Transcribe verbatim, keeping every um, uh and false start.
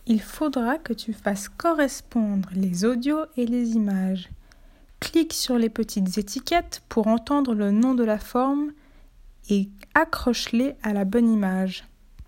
Il faudra que tu fasses correspondre les audios et les images. Clique sur les petites étiquettes pour entendre le nom de la forme et accroche-les à la bonne image.